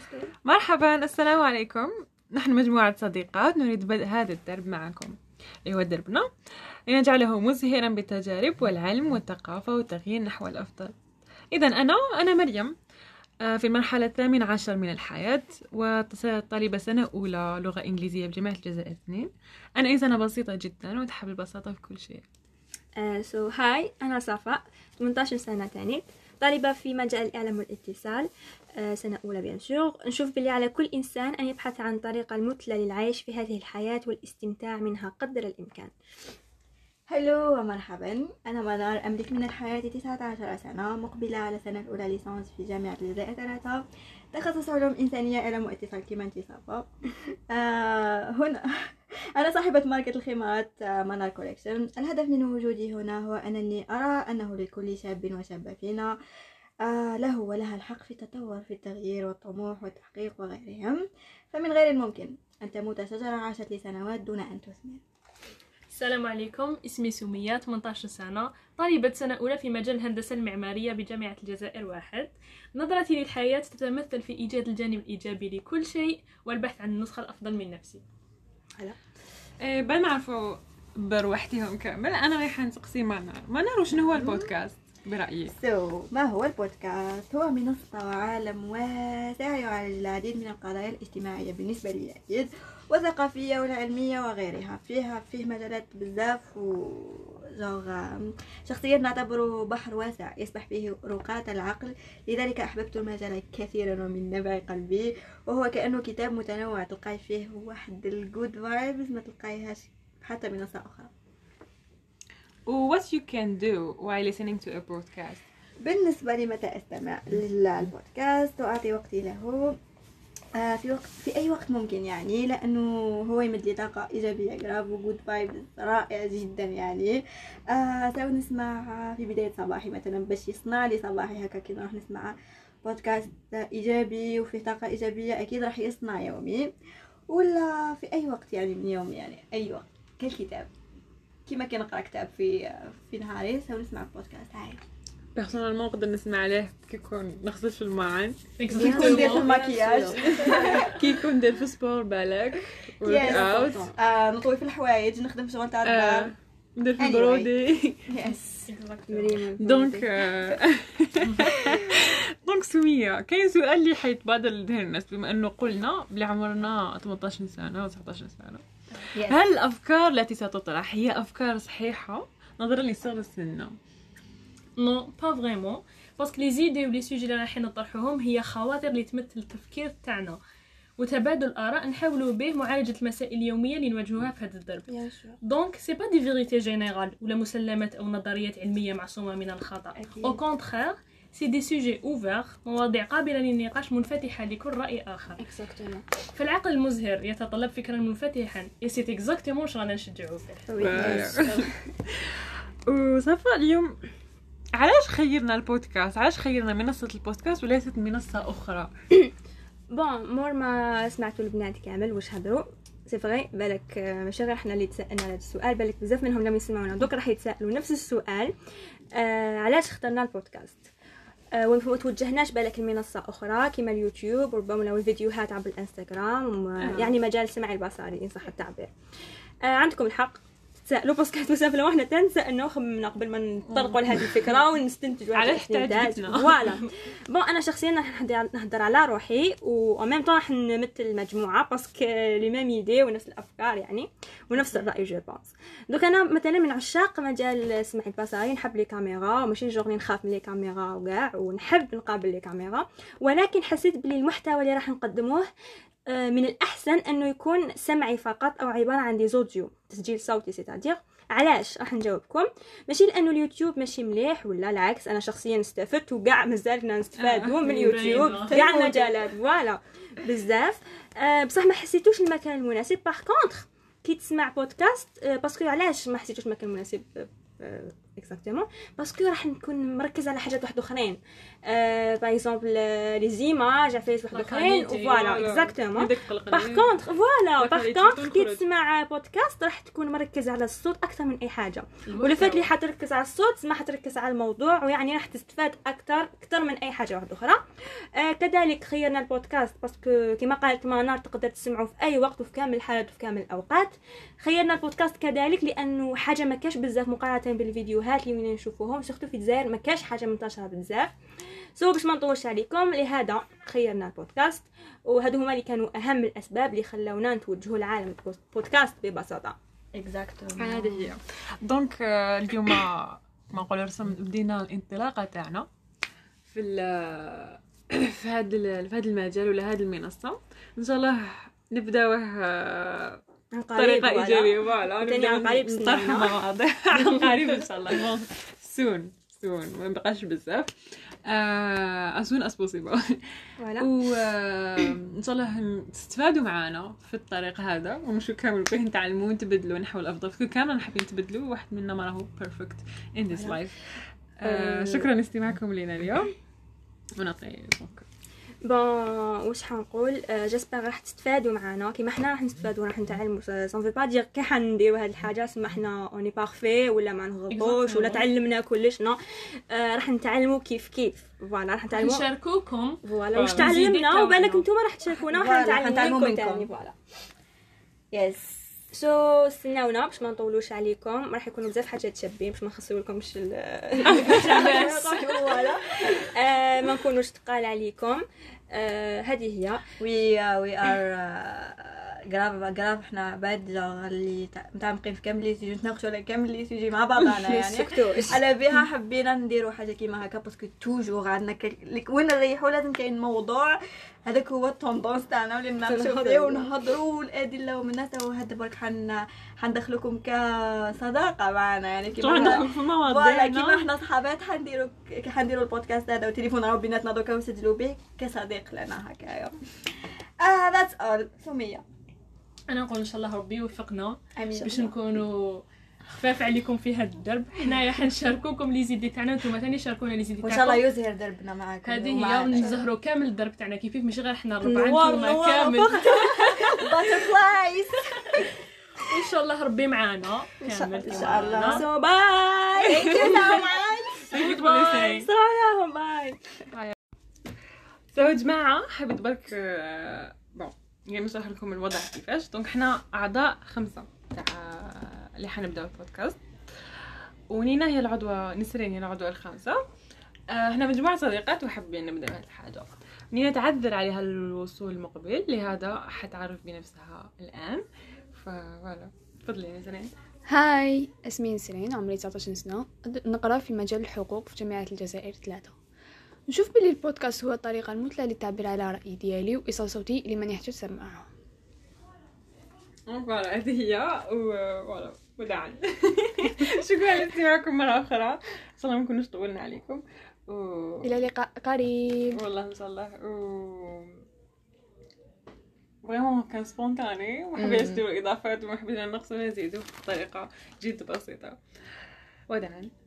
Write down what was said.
مرحبا، السلام عليكم. نحن مجموعة صديقات نريد بدء هذا الدرب معكم، اللي هو دربنا لنجعله مزهرا بالتجارب والعلم والثقافة والتغيير نحو الأفضل. إذا أنا مريم، في المرحلة 18 من الحياة، وطالبة سنة أولى لغة إنجليزية بجامعة الجزائر 2. أنا إنسانة بسيطة جدا وتحب البساطة في كل شيء. هاي أنا صفاء، 18 سنة تاني، طالبة في مجال الإعلام والاتصال، سنة أولى بيان سور. نشوف باللي على كل إنسان أن يبحث عن طريقة المثلى للعيش في هذه الحياة والاستمتاع منها قدر الإمكان. هلو ومرحبا، أنا منار، أملك من الحياة 19 سنة، مقبلة على سنة الأولى ليسانس في جامعة الجزائر 3، تخصص علوم إنسانية إعلام واتصال كما انت صفاء. هنا أنا صاحبة ماركة الخيمات منار كوليكشن. الهدف من وجودي هنا هو أنني أرى أنه لكل شاب وشابة فينا له ولها الحق في التطور، في التغيير والطموح والتحقيق وغيرهم. فمن غير الممكن أن تموت شجرة عاشت لسنوات دون أن تثمر. السلام عليكم، اسمي سمية، 18 سنة، طالبة سنة أولى في مجال الهندسة المعمارية بجامعة الجزائر 1. نظرتي للحياة تتمثل في إيجاد الجانب الإيجابي لكل شيء والبحث عن النسخة الأفضل من نفسي. هلا بل نعرفوا بروحتهم كامل. أنا رايحة نسقسي منار وشنو هو البودكاست برأيك؟ ما هو البودكاست؟ هو منصة وعالم واسع يعالج العديد من القضايا الاجتماعية بالنسبة لي أكيد، والثقافية والعلمية وغيرها. فيه مجالات بزاف شخصيا نعتبره بحر واسع يسبح فيه رقاة العقل، لذلك أحببت المجال كثيرا ومن نبع قلبي. وهو كأنه كتاب متنوع، تلقاي فيه واحد الجود فايبز ما تلقايهاش حتى منصة أخرى. What you can do while listening to a podcast؟ بالنسبة لي متى أستمع للبودكاست وأعطي وقتي له في أي وقت ممكن، يعني لأنه هو يمد لي طاقة إيجابية جراف وجود فايب رائع جدا. يعني سو نسمع في بداية صباحي مثلا باش يصنع لي صباحي هكا، كي نروح نسمع بودكاست إيجابي وفيه طاقة إيجابية أكيد راح يصنع يومي، ولا في أي وقت يعني من يوم، يعني أي وقت كالكتاب كيما كي نقرا كتاب في نهاري سو نسمع بودكاست. هاي بيرسونالمون نقدر نسمع عليه كي يكون نغسل في الماعن، كي يكون ندير في المكياج، كي يكون ندير في سبور بالك، ورك اوت، نطوي في الحوايج، نخدم في شغل تاع الدار، ندير في البرودي. دونك سمية، كاين سؤال اللي حيتبادر لذهن الناس بما انه قلنا بلي عمرنا 18 سنة و 19 سنة. هل الافكار التي ستطرح هي افكار صحيحة نظرا لصغر سننا؟ نو با فريمون، باسكو لي زيدي ولي سوجي اللي رايحين نطرحوهم هي خواطر اللي تمثل التفكير تاعنا وتبادل الاراء نحاولوا به معالجه المسائل اليوميه اللي نواجهوها في هذا الدرب. دونك سي با دي فيريتي جينيرال ولا مسلمات او نظريات علميه معصومه من الخطا، او كونترير سي دي سوجي اوفر، مواضيع قابله للنقاش منفتحه لكل راي اخر. فالعقل المزهر يتطلب فكرا منفتحا، اي سي اكزاكتومون واش رانا نشجعوا فيه. وصفاء، اليوم علاش خيرنا البودكاست؟ علاش خيرنا منصة البودكاست وليست منصة أخرى؟ بون مور ما سمعتوا البنات كامل واش هضروا، سي فغي بالك ماشي غير حنا اللي تسالنا هذا السؤال، بالك بزاف منهم لما يسمعونا دوك راح يتسالوا نفس السؤال. علاش اخترنا البودكاست؟ وما توجهناش بالك المنصه اخرى كما اليوتيوب وربما لو الفيديوهات عبر الانستغرام، يعني مجال السمع البصري ان صح التعبير. عندكم الحق تسالوا، باسكو بزاف لو احنا تنسالوا خممنا قبل ما نطرقوا لهذه الفكره ونستنتجوا علاش تعجبتنا. فوالا بون انا شخصيا نهضر على روحي و ميم طون راح نمثل المجموعه باسكو لي ميم ايدي ونفس الافكار يعني ونفس الراي جو بونس. دوك انا مثلا من عشاق مجال السمع البصري، نحب لي كاميرا وماشي جوغني نخاف من لي كاميرا وكاع، ونحب نقابل لي كاميرا، ولكن حسيت بلي المحتوى اللي راح نقدموه من الأحسن أنه يكون سمعي فقط أو عبارة عن دي زوديو، تسجيل صوتي. سيتادير علاش راح نجاوبكم، ماشي لأنه اليوتيوب ماشي مليح ولا العكس، أنا شخصيا استفدت وقاع مازالنا نستفادوا من اليوتيوب كاع المجالات فوالا بزاف، بصح ما حسيتوش المكان المناسب. باغ كونطخ كي تسمع بودكاست باسكو علاش ما حسيتوش المكان المناسب اكزاكتومون باسكو راح نكون مركز على حاجات واحد اخرين باغ اكزومبل لي زيماج عفايس واحد اخرين فوالا اكزاكتومون باغ كونطخ فوالا باغ كونطخ كي تسمع بودكاست راح تكون مركز على الصوت اكثر من اي حاجه ولا فات لي حتركز على الصوت ما حتركز على الموضوع ويعني راح تستفاد اكثر من اي حاجه واحده اخرى. كذلك خيرنا البودكاست باسكو كما قالت منار تقدر تسمعوا في اي وقت وفي كامل الحالات وفي كامل الاوقات. خيرنا البودكاست كذلك لانه حاجه ما كاش بزاف مقارنه بالفيديوهات اللي وين نشوفوهم سورتو في الجزائر ما كاش حاجه منتشره بزاف باش ما نطولش عليكم لهذا خيرنا البودكاست وهادو هما اللي كانوا اهم الاسباب اللي خلونا نتوجهوا لعالم البودكاست ببساطه. اكزاكتومون هذه هي. دونك اليوم ما نقول بدينا الانطلاقه تاعنا في في هذا المجال ولا هذه المنصه ان شاء الله نبداوه بطريقه ايجابيه فوالا نبداو نطرح مواضيع عن قريب ان شاء الله سون ما نبقاش بزاف as soon as possible فوالا وان شاء الله تستفادوا معنا في الطريق هذا ونمشيو كامل به نتعلموا ونتبدلوا نحو الافضل فكل كامل حابين نتبدلوا واحد منا ما راهو بيرفكت in this life. شكرا لاستماعكم لنا اليوم ونعطي بون واش حنقول جيسبر راح تستفادوا معنا كيما حنا راح نستفادوا راح نتعلموا سون في با دير كي حنديروا هاد الحاجه سما حنا اوني بارفي ولا ما نغلطوش ولا تعلمنا كلش نو راح نتعلموا كيف فوالا راح نتعلموا نشاركوكم فوالا واش تعلمنا وبالك نتوما راح تشاركونا وراح نتعلموا منكم فوالا يس استناونا باش ما نطولوش عليكم راح يكونوا بزاف حاجات شابين باش ما نخسرولكمش فوالا ما نكونوش ثقال عليكم. هذه هي وي ار غراف احنا عباد اللي متعمقين في كامل لي سيجي نتناقشوا على كامل لي سيجي مع بعضنا يعني على بها حبينا نديروا حاجه كيما هكا باسكو توجور عندنا وين نريحوا لازم كاين موضوع هذاك هو التوندونس تاعنا اللي نناقشوا فيه ونهضروا الادله ومن الناس وهذا برك حندخلكم كصداقه معنا يعني كيما فوالا كيما احنا صحابات حنديروا البودكاست هذا وتليفون راهو بيناتنا دوكا نسجلوا به كصديق لنا هكايا. ذاتس اول. سميه انا نقول ان شاء الله ربي يوفقنا باش نكونوا خفاف عليكم في هذا الدرب. حنايا حنشاركوكم لي زيدي تاعنا نتوما ثاني شاركونا لي زيدي تاعكم وان شاء الله يزهر دربنا معاكم. هذه هي ونزهروا كامل الدرب تاعنا كيفاش ماشي غير حنا الربعه نتوما كامل باترفلايز ان شاء الله ربي معانا كامل ان شاء الله. سو باي ثانك يو سو ماتش سلام باي. يا جماعه حبيت برك يعني نشرح لكم الوضع كيفاش. دونك حنا اعضاء 5 تاع اللي حنبداو البودكاست ونينا هي العضوه نسرين هي العضوه الخامسه. احنا مجموعه صديقات وحابين نبدا بهذه الحاجه. نينا تعذر عليها الوصول المقبل لهذا حتعرف بنفسها الان فوالا تفضلي نسرين. هاي اسمي نسرين عمري 19 سنه نقرا في مجال الحقوق في جامعه الجزائر 3. نشوف بلي البودكاست هو الطريقه المثلى للتعبير على رأيي ديالي وايصال صوتي لمن يحتاج سماعه. فوالا هذه هي وفوالا وداعا. شكرا لاستماعكم مرة أخرى. إن شاء الله ما نكونوش طولنا عليكم إلى لقاء قريب والله إن شاء الله. فريمون كان سبونتاني وما حبيناش نديرو إضافات وما حبينا نقصو نزيدو بطريقة جد بسيطة. وداعا.